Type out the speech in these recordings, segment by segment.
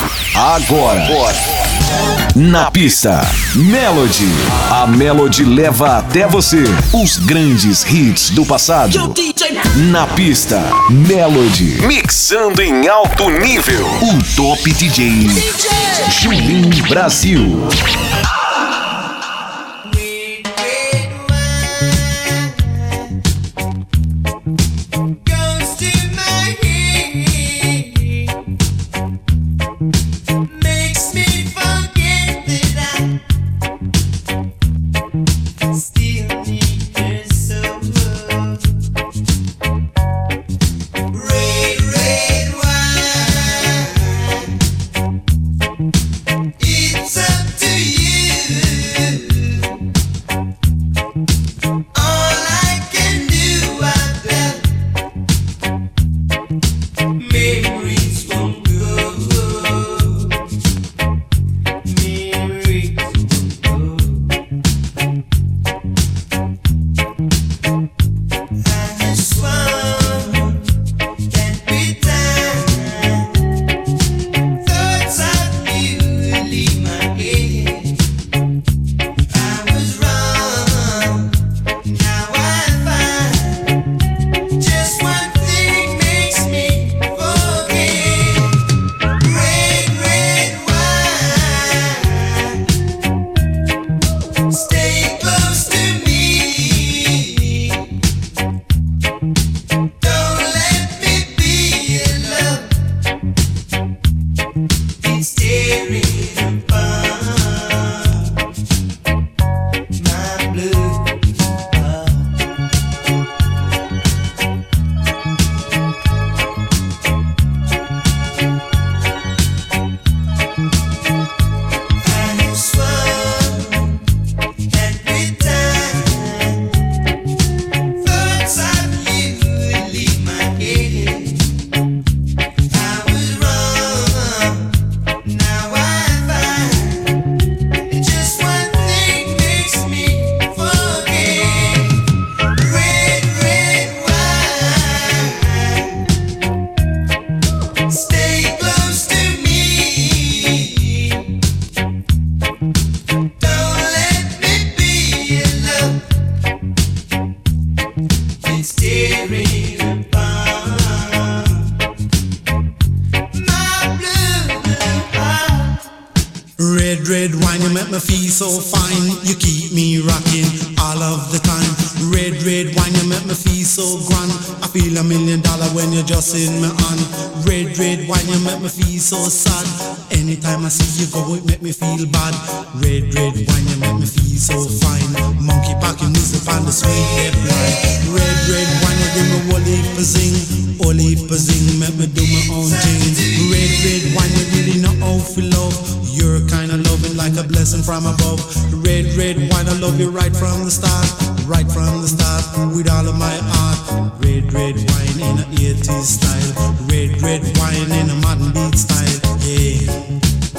Agora. Na pista, Melody. A Melody leva até você os grandes hits do passado. Na pista, Melody. Mixando em alto nível. O Top DJ Julinho Brasil. Red wine, you make me feel so fine. You keep me rocking all of the time. Red wine, you make me feel so grand. I feel $1 million when you're just in my hand. Red wine, you make me feel so sad. Anytime I see you go, it make me feel bad. Red wine, you make me feel so fine. Monkey packing music on the sweet hip line. Red wine, you give me whole heap of zing, make me do my own thing. Red wine, you really know how to love. You're kind of loving like a blessing from above. Red wine, I love you right from the start, with all of my heart. Red wine in a 80s style. Red wine in a modern beat style. Yeah.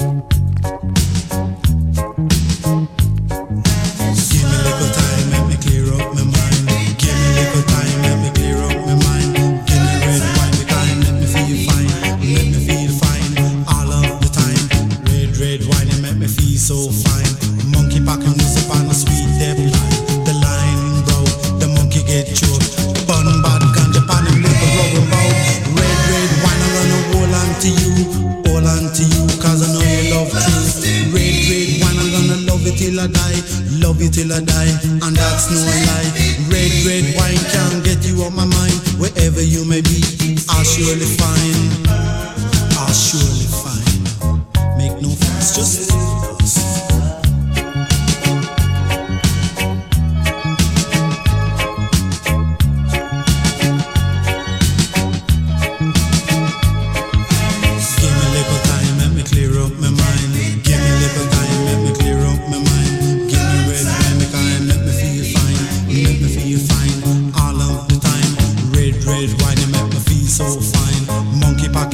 Give me a little time, let me clear up my mind. Give me a little time, let me clear up my mind. Give me red wine, the time, let me feel fine. Let me feel fine all of the time. Red wine, you make me feel so fine. Monkey packing music on a sweet depth line. The line, bro, the monkey get choked. Bun bad ganja pan him liver rubber bow. Red wine, I'm gonna hold on to you, cause I know you love truth. Red wine, I'm gonna love you till I die, and that's no lie. Red wine can't get you out my mind. Wherever you may be, I'll surely find. Make no fuss, just so fine. Monkey pack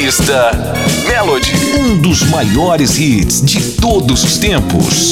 pista Melody, um dos maiores hits de todos os tempos.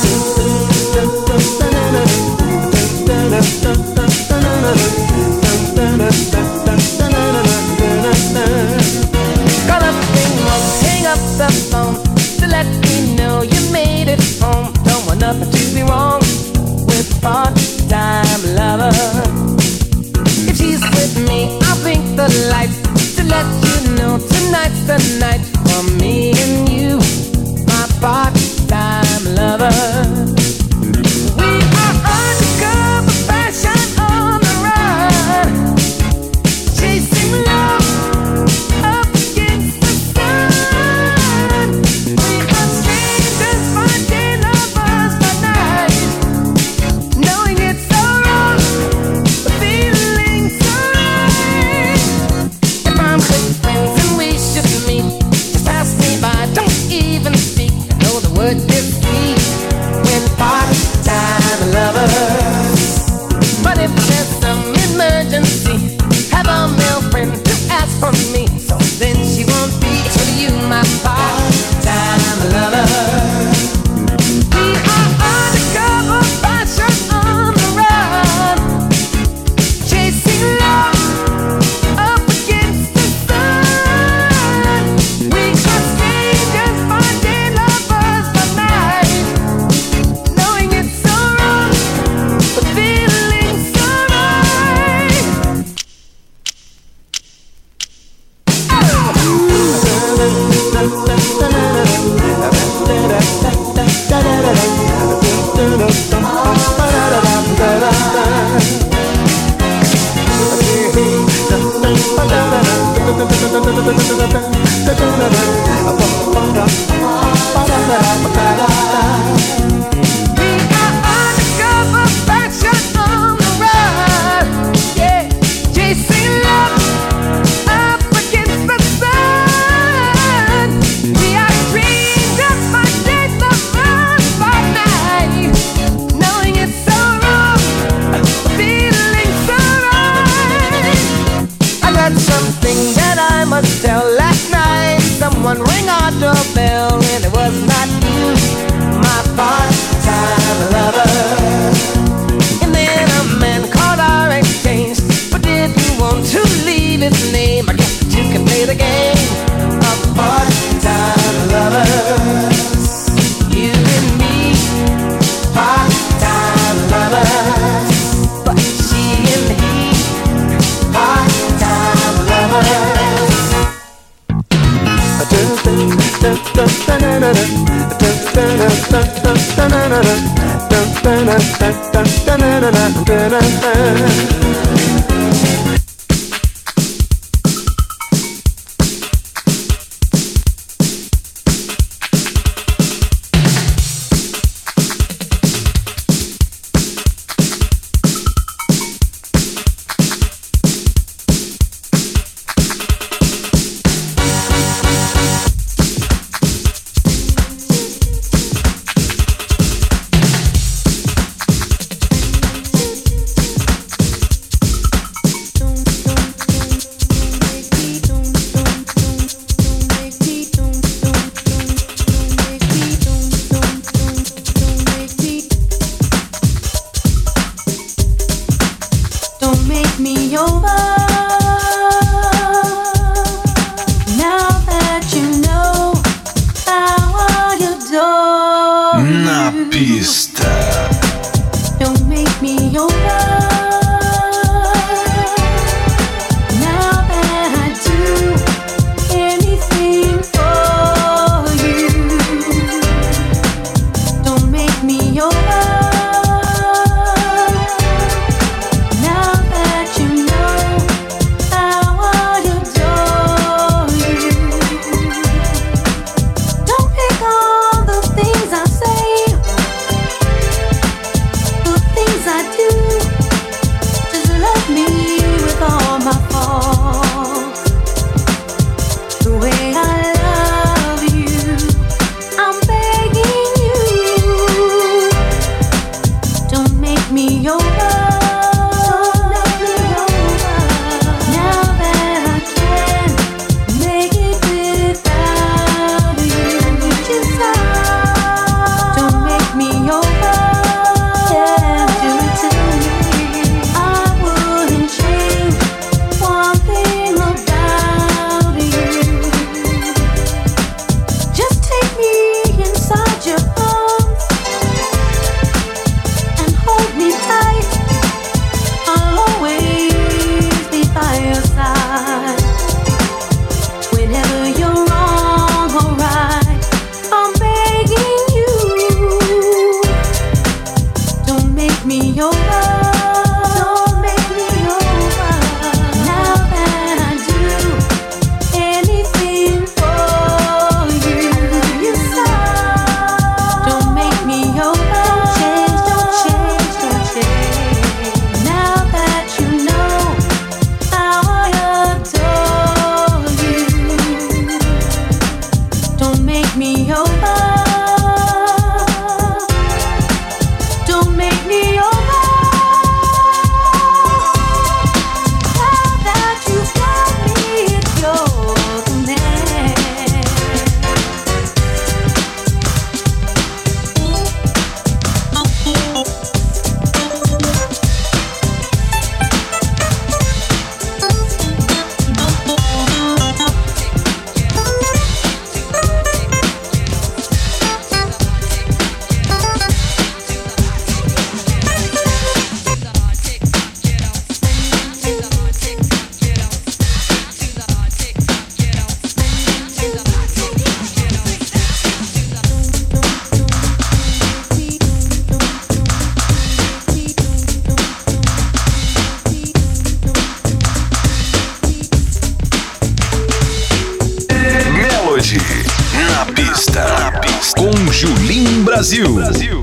Call up and hang up the phone to let me know you made it home. Don't want nothing to be wrong with part-time lover. If she's with me, I'll blink the lights to let you know tonight's the night for me and you, my part-time lover. We are undercover fashion on the run, chasing love up against the sun. We are strangers, finding lovers by night, knowing it's so wrong, but feeling so right. If I'm good friends and we should meet, just pass me by, don't even speak. I know the word is sweet when part-time lovers. But if there's some emergency, have a male friend to ask for me, so then she won't be to you, my part-time lover. We are undercover fashion on the run, chasing love up against the sun. We are strangers, finding lovers by night, knowing it's so wrong, but feeling so right. We are undercover fashion on the run, yeah, chasing love up against the sun. We are strangers, finding lovers by night, knowing it's so wrong, feeling so right. I got something that I must tell. Last night, someone rang our doorbell, and it was not you, my part-time lover. And then a man called our exchange, but didn't want to leave his name. I guess that you can play the game of part-time lovers. You and me, part-time lovers. But she and he, part-time lovers. Don't make me over. Now that you know how I adore Na you. pista. Don't make me over. Now that I do anything for you. Don't make me over. Now that you know how I adore you. Don't pick all the things I say, the things I do. Julim Brasil.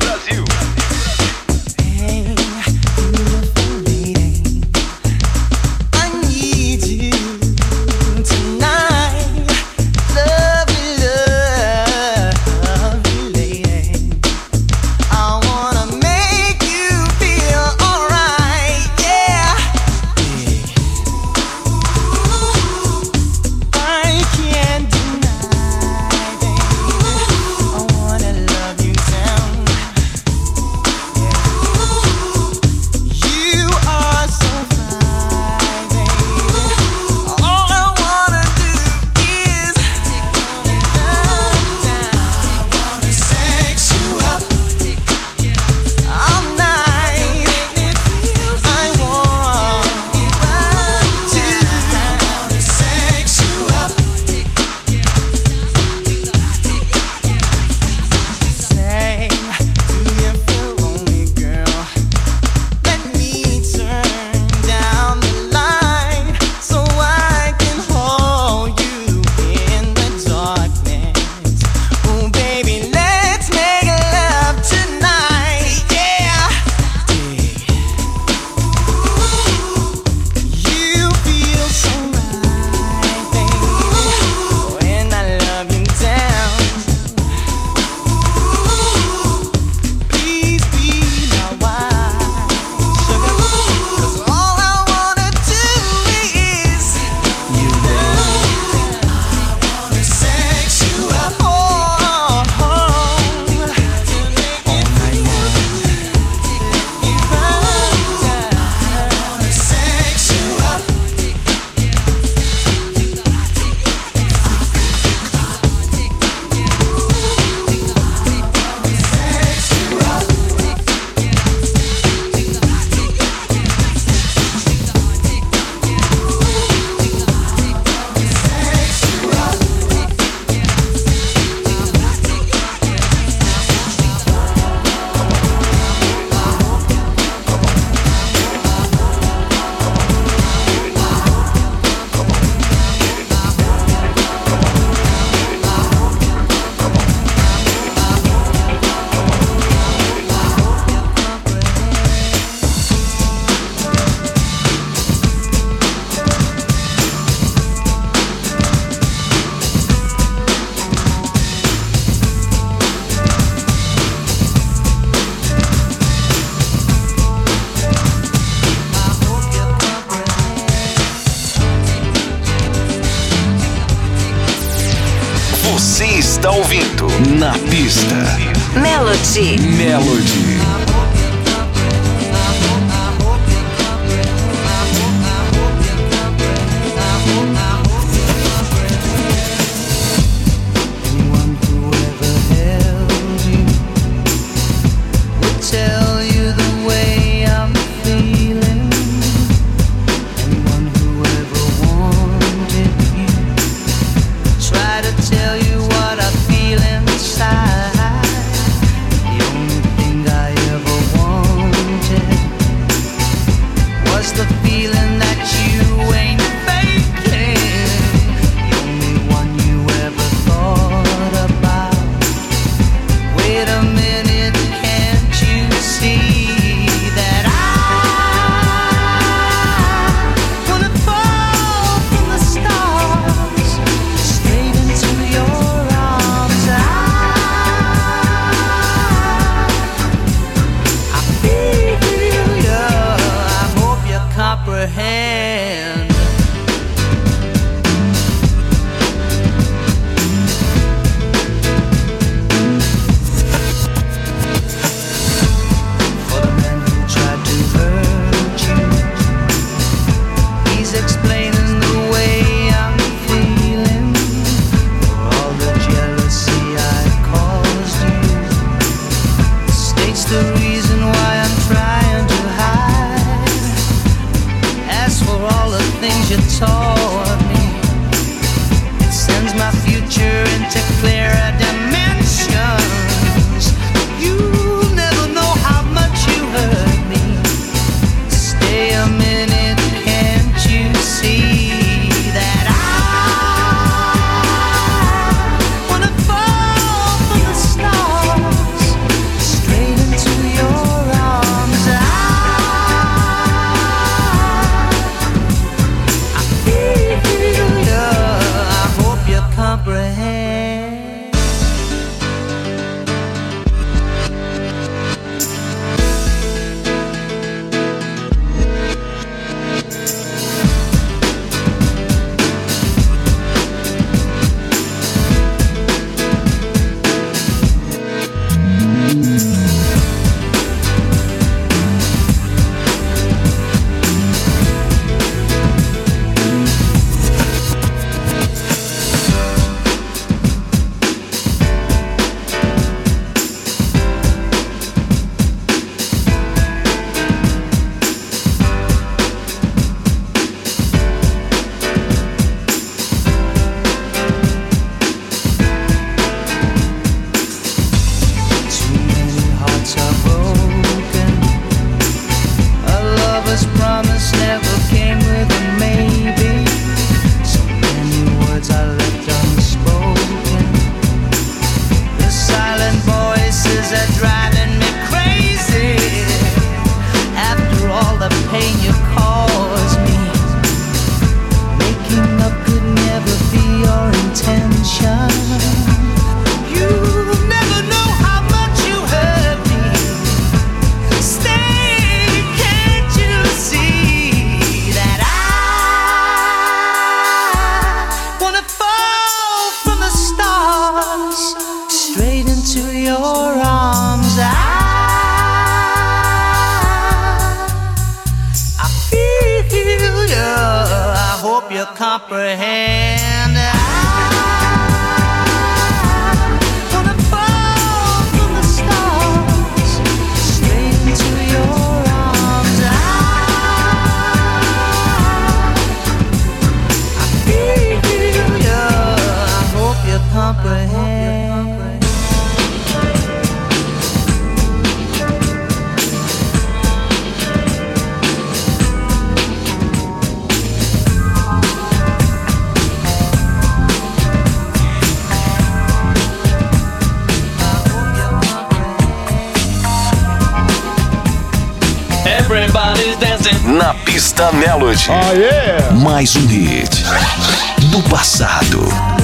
Você está ouvindo Na Pista. Melody. Stars pain you cause me. Making up could never be your intention. You never know how much you hurt me. Stay, can't you see that I wanna fall from the stars straight into your arms? I feel you, I hope you comprehend. I wanna fall from the stars straight into your arms. I feel you, I hope you comprehend. Everybody's dancing. Na pista Melody. Oh, yeah. Mais um hit do passado.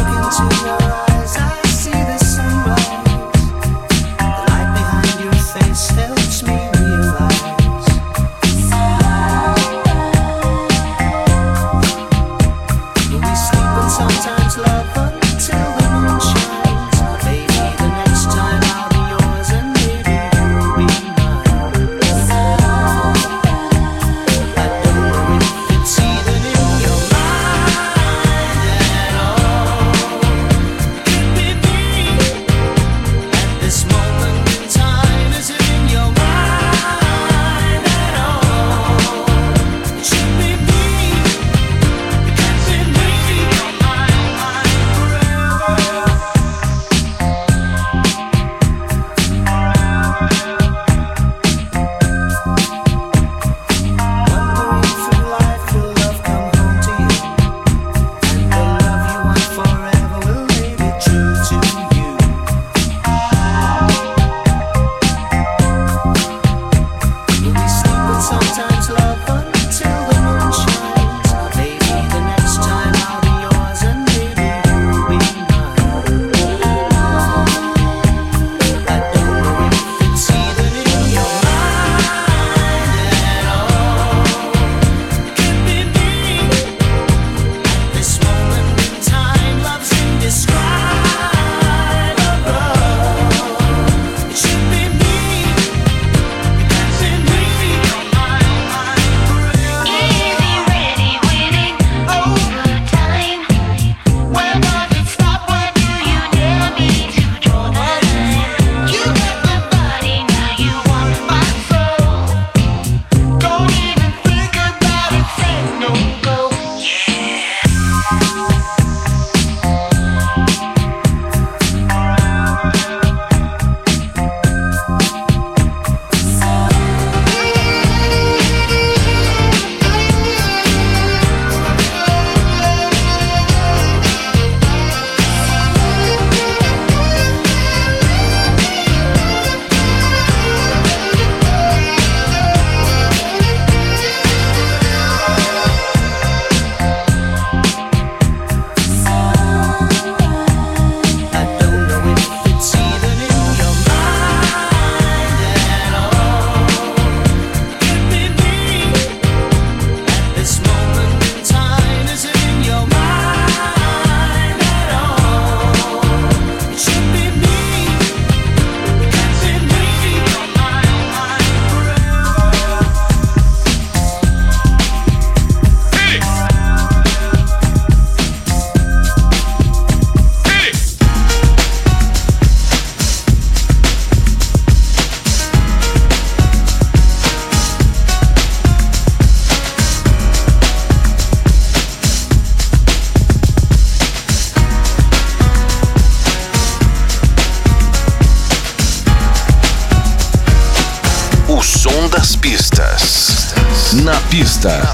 Na pista.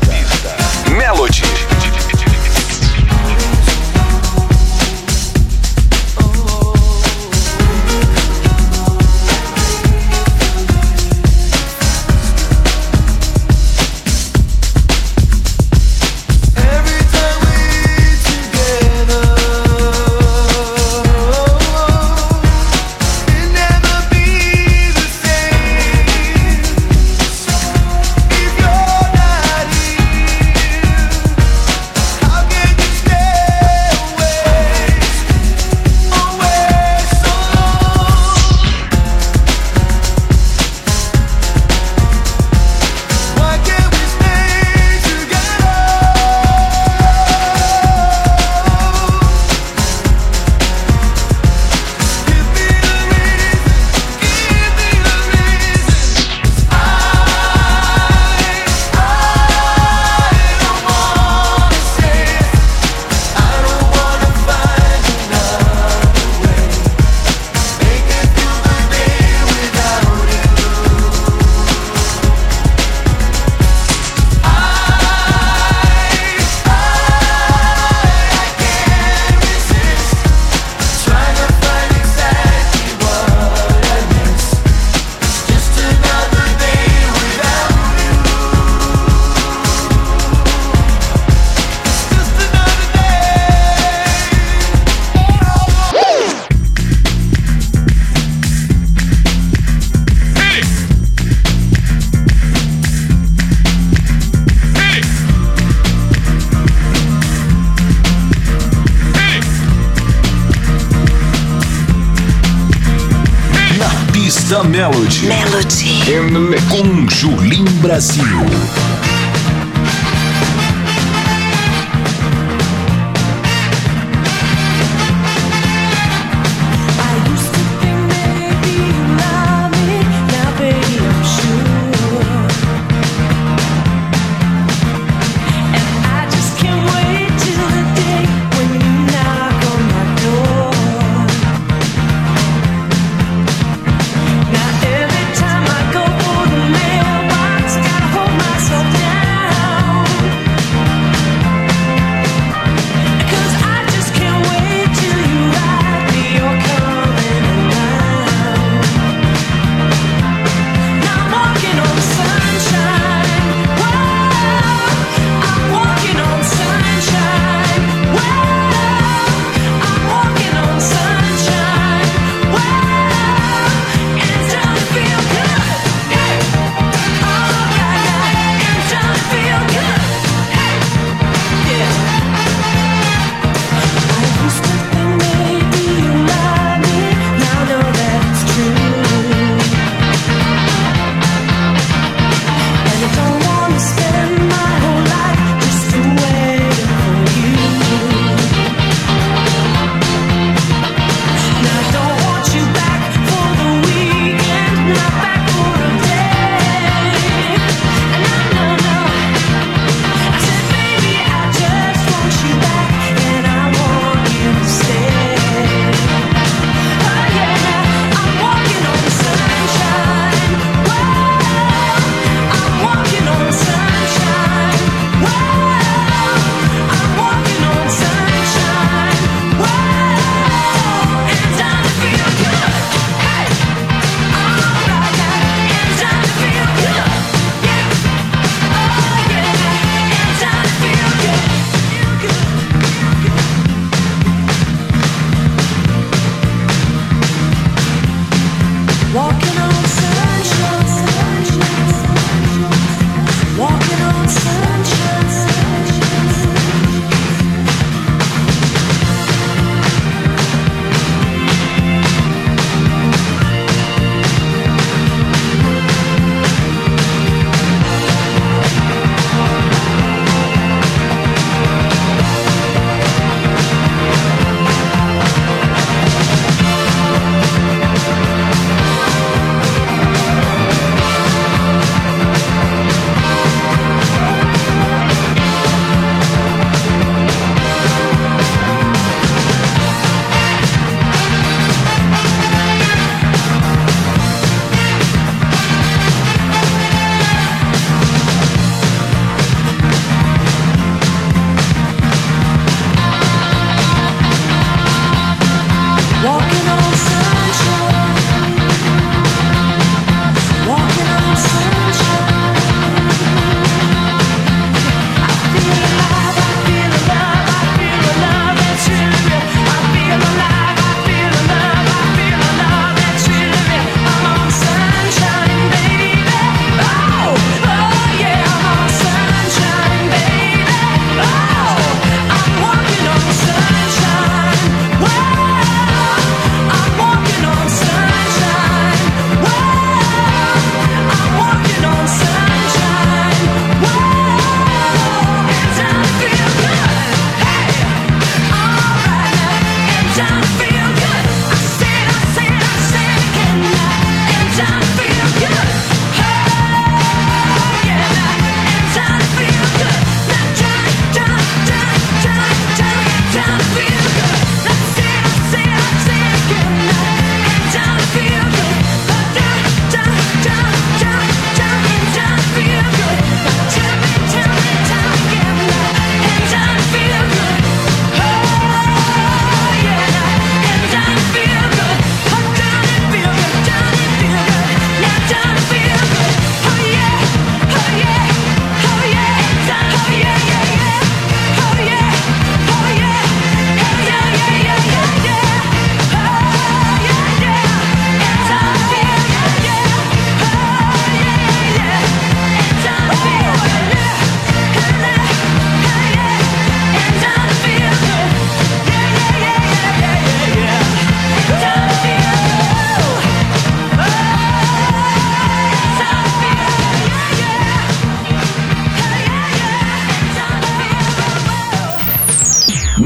Melody. na Melody. Com Julim Brasil. Every time I go for the mailbox, gotta hold myself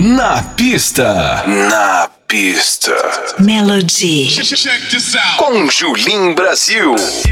Na pista. Na pista. Melody. Com Julim Brasil.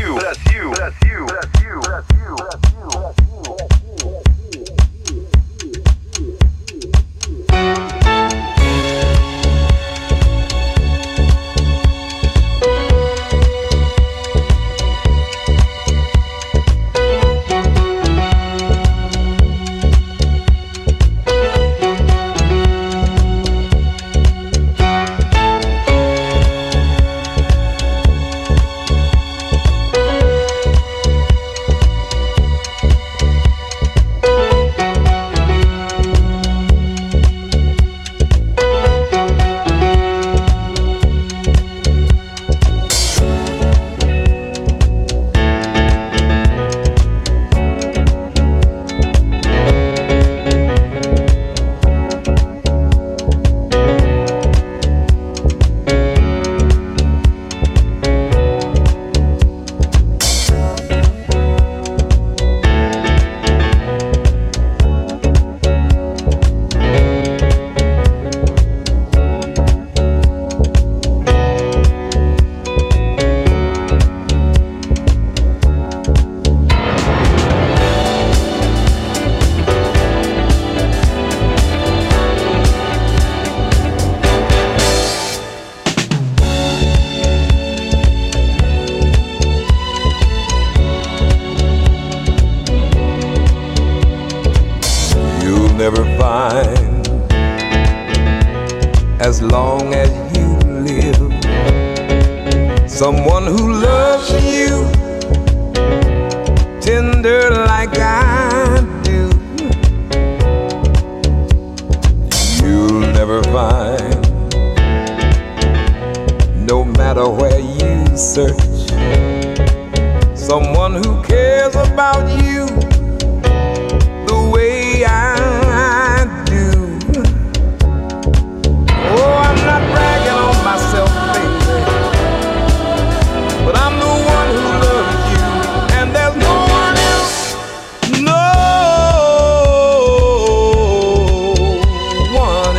Never find, as long as you live, someone who loves you tender like I do. You'll never find, no matter where you search, someone who cares about you the way I do. Oh, I'm not bragging on myself, baby, but I'm the one who loves you, and there's no one else, no one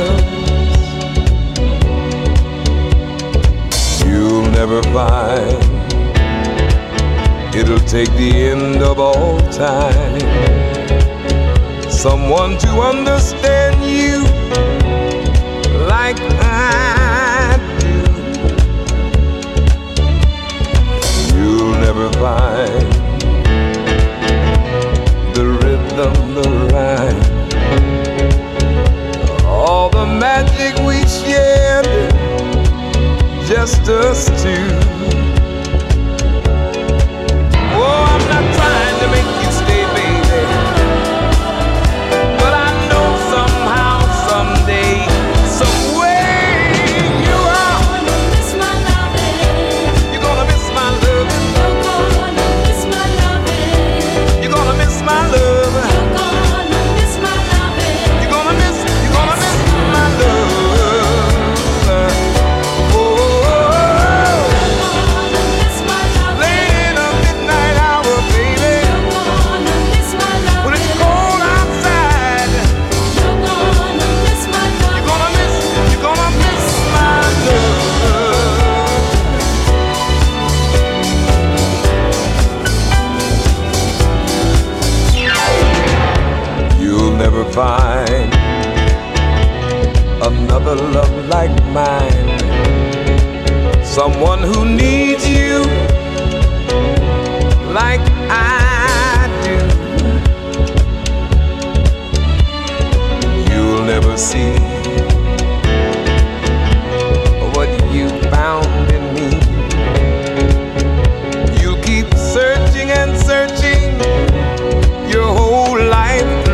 else. You'll never find, it'll take the end of all time, someone to understand you like I do. You'll never find the rhythm, the rhyme, all the magic we shared, just us two. Oh, I'm not trying to make you stay, baby, but I know somehow, someday, some way you are gonna miss my loving. You're gonna miss my loving. You're gonna miss my loving. You're gonna miss my loving. You're gonna miss my loving. You're gonna miss my love. Oh, you're gonna miss my loving. Late in the midnight hour, baby. You're gonna miss my loving. When it's cold outside, you're gonna miss my loving. You're gonna miss my love. You'll never find another love like mine, someone who needs you like I do. You'll never see what you found in me. You'll keep searching and searching your whole life through.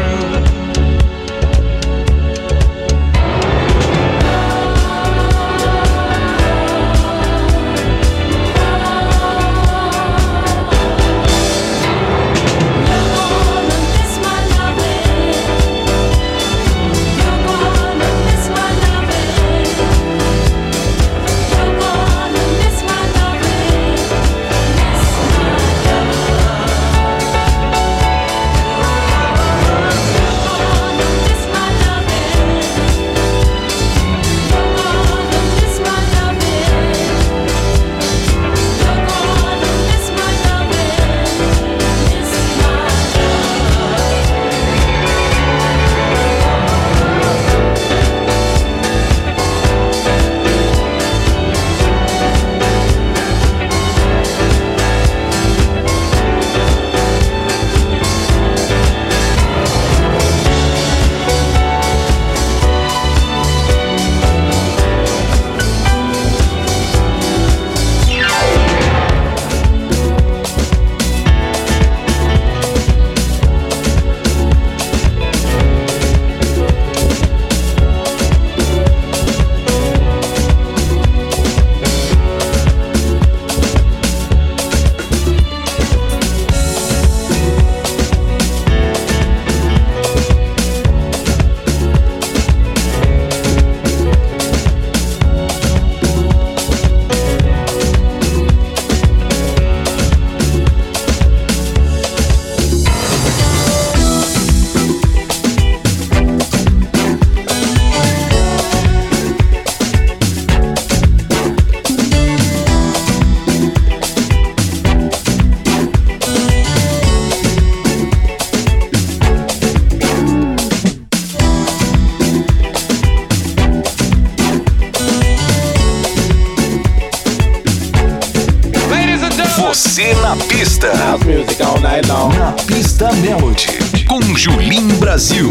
Pista Melody, com Julim Brasil.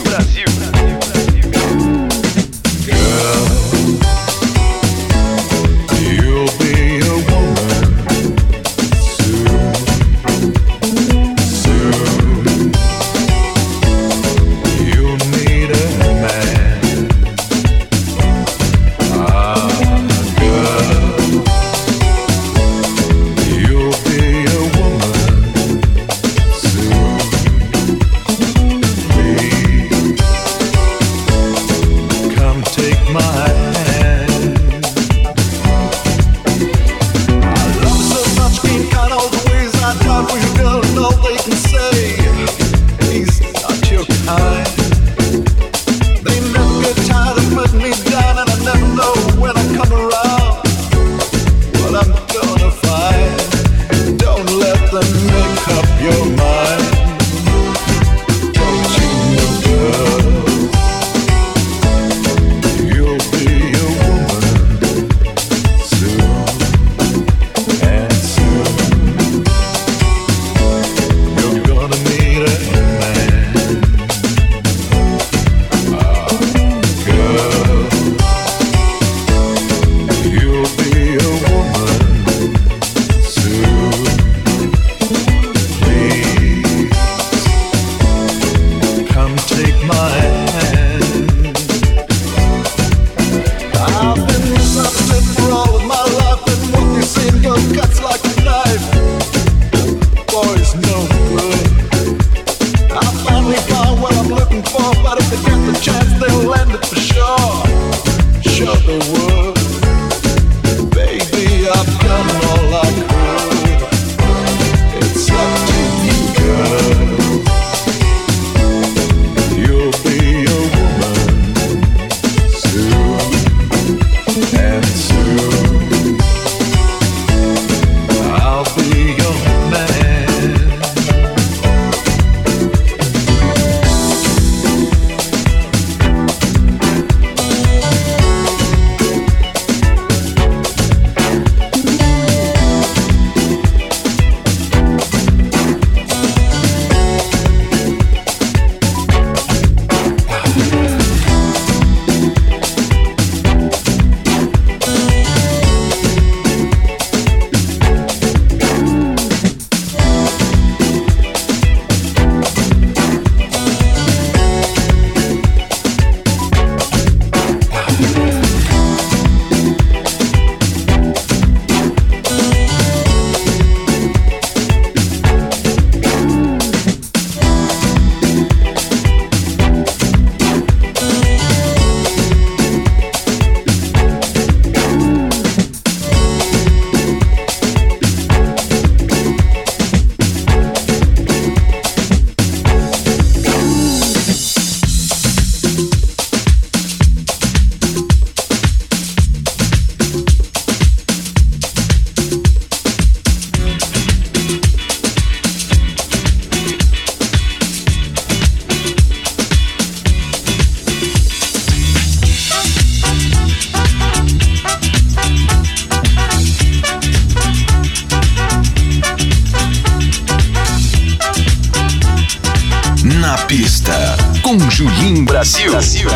Na pista, com Julim Brasil.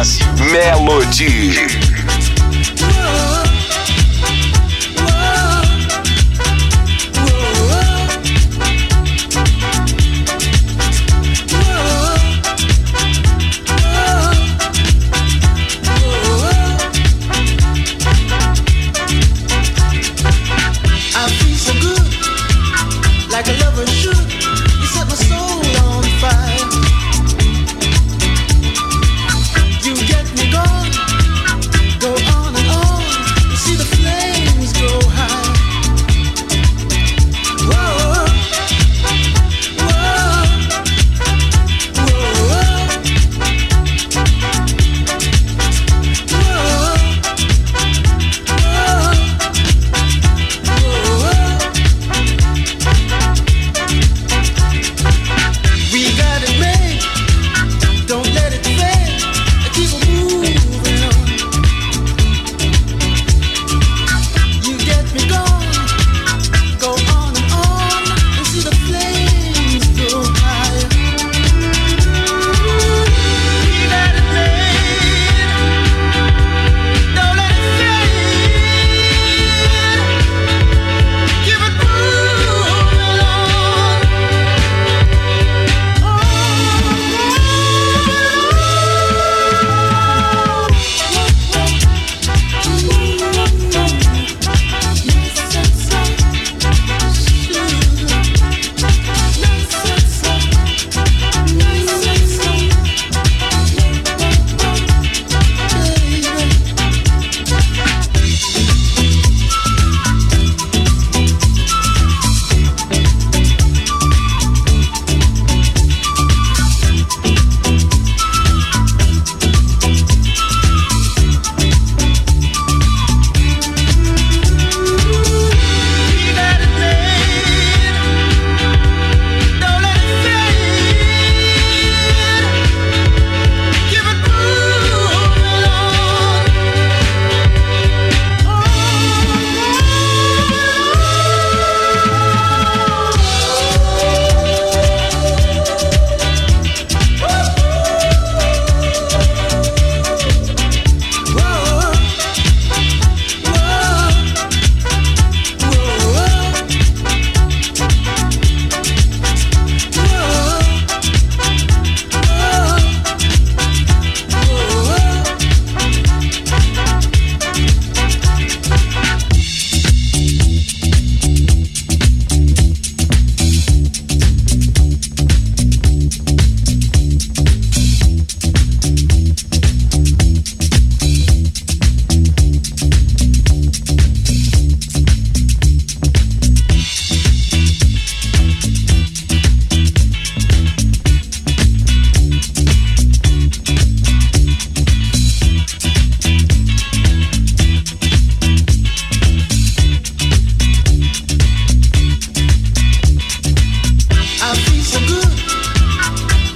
Melody. Like a lover should, you set my soul on fire. You get me going, go on and on.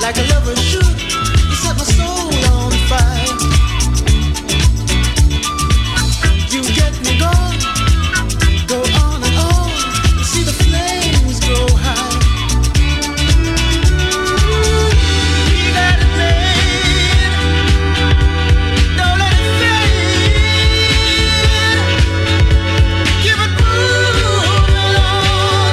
like a lover should. You set my soul on fire. You get me going, go on and on. You see the flames go high. Leave that flame, don't let it fade. Give it moving on.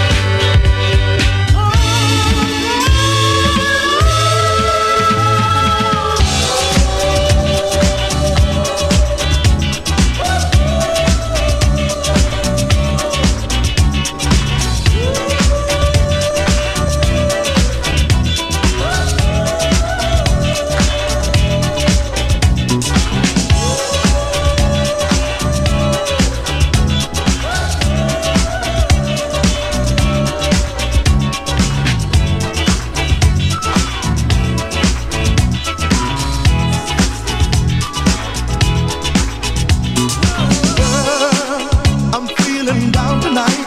I'm feeling down tonight.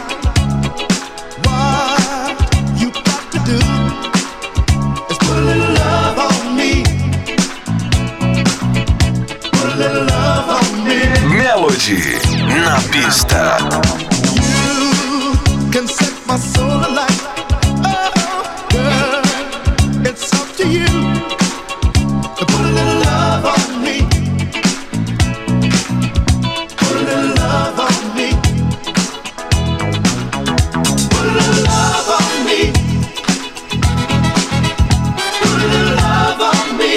What you got to do is put a little love on me. Put a little love on me. Melody na pista. You can set my soul alight. Oh, girl, it's up to you to put a little love on me. Put a little love on me. Put a little love on me. Put a little love on me.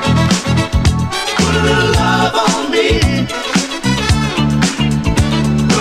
Put a little love on me.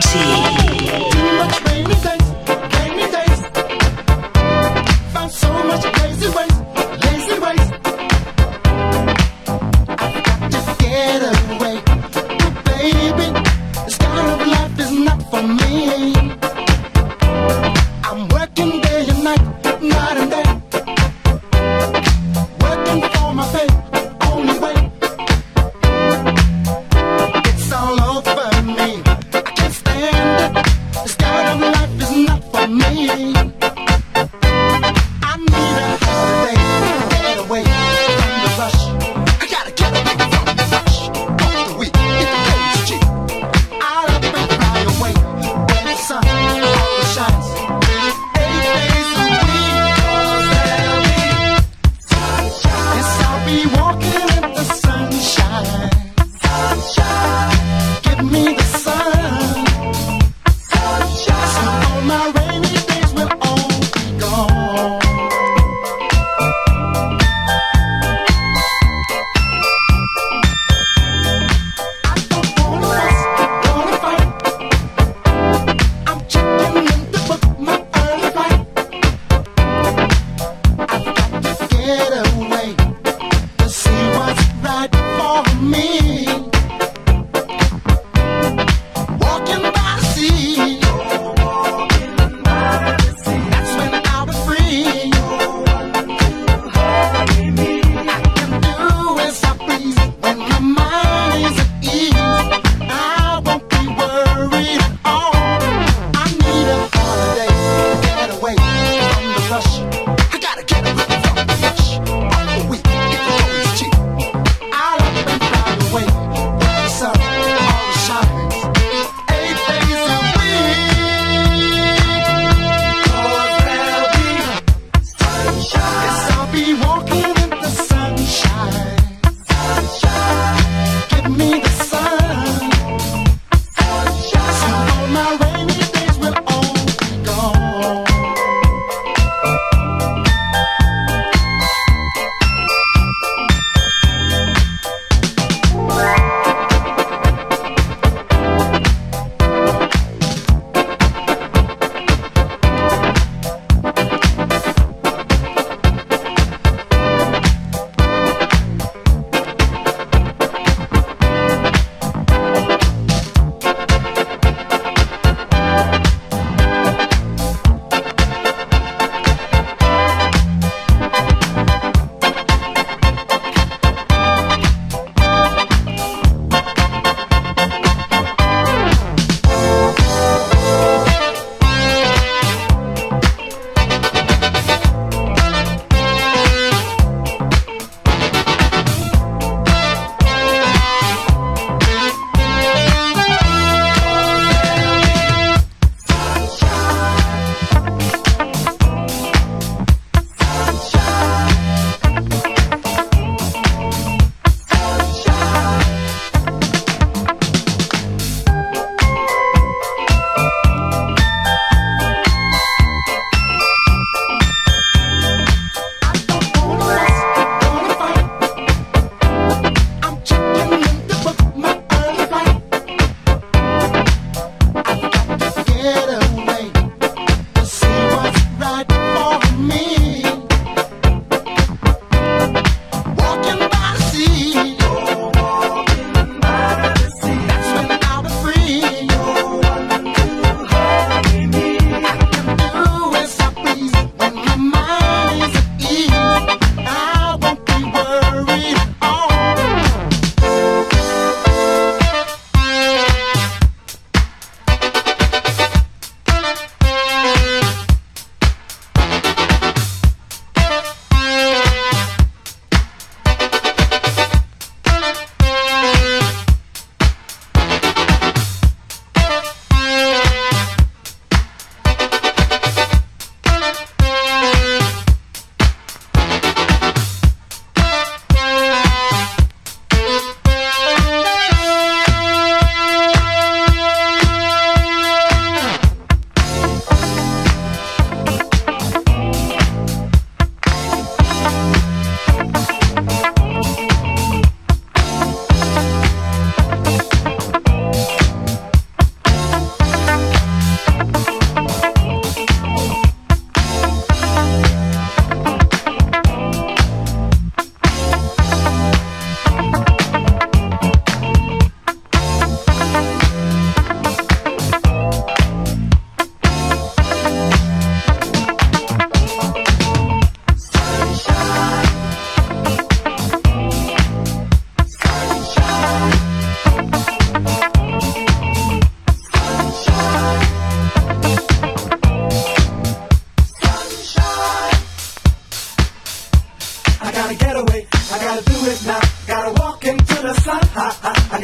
Too much rainy days. Found so much lazy ways. I've got to get away. But baby, this kind of life is not for me. I'm working day and night and day. Working for my pay, only way. It's all over me. I can't stand it.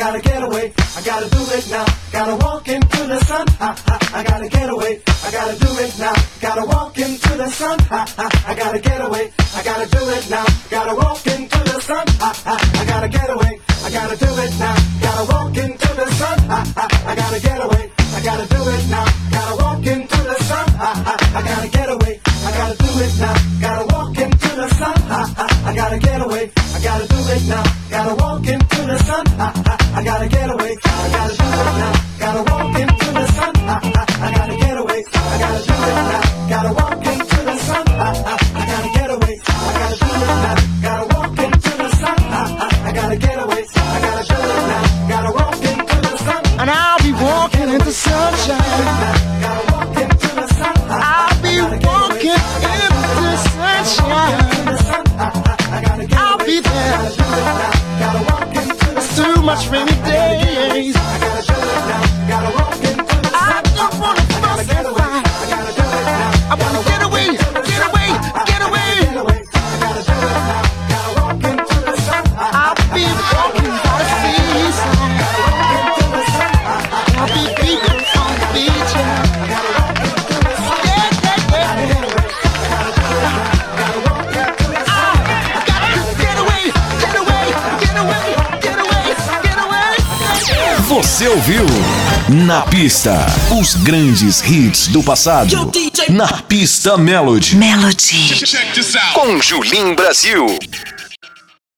gotta get away, I gotta do it now. Gotta walk into the sun, I gotta get away, I gotta do it now. Gotta walk into the sun, I gotta get away, I gotta do it now. Gotta walk into the sun, I gotta get away, I gotta do it now. Gotta walk into the sun, I gotta get away, I gotta do it now. Gotta walk into the sun, I gotta get away, I gotta do it now. Gotta walk into the sun, I gotta get away, I gotta do it now. Gotta walk into the sun, I gotta get away, I gotta do it now. Gotta walk into the sun, I gotta get away, I gotta do it now. Gotta walk into the sun, I gotta get away, I gotta do it now. Gotta walk into the sun, I gotta get away, I gotta do it now. Gotta walk into the sun, and I'll be walking into sunshine. Gotta walk into the sun, I'll be walking into sunshine. I'll be there through much rainy days. I don't wanna fuss and fight. I wanna get away, get away, get away. I'll be walking by the seaside. I'll be beating on the beach. Você ouviu Na Pista, os grandes hits do passado. Na Pista Melody. Melody. Com Julim Brasil.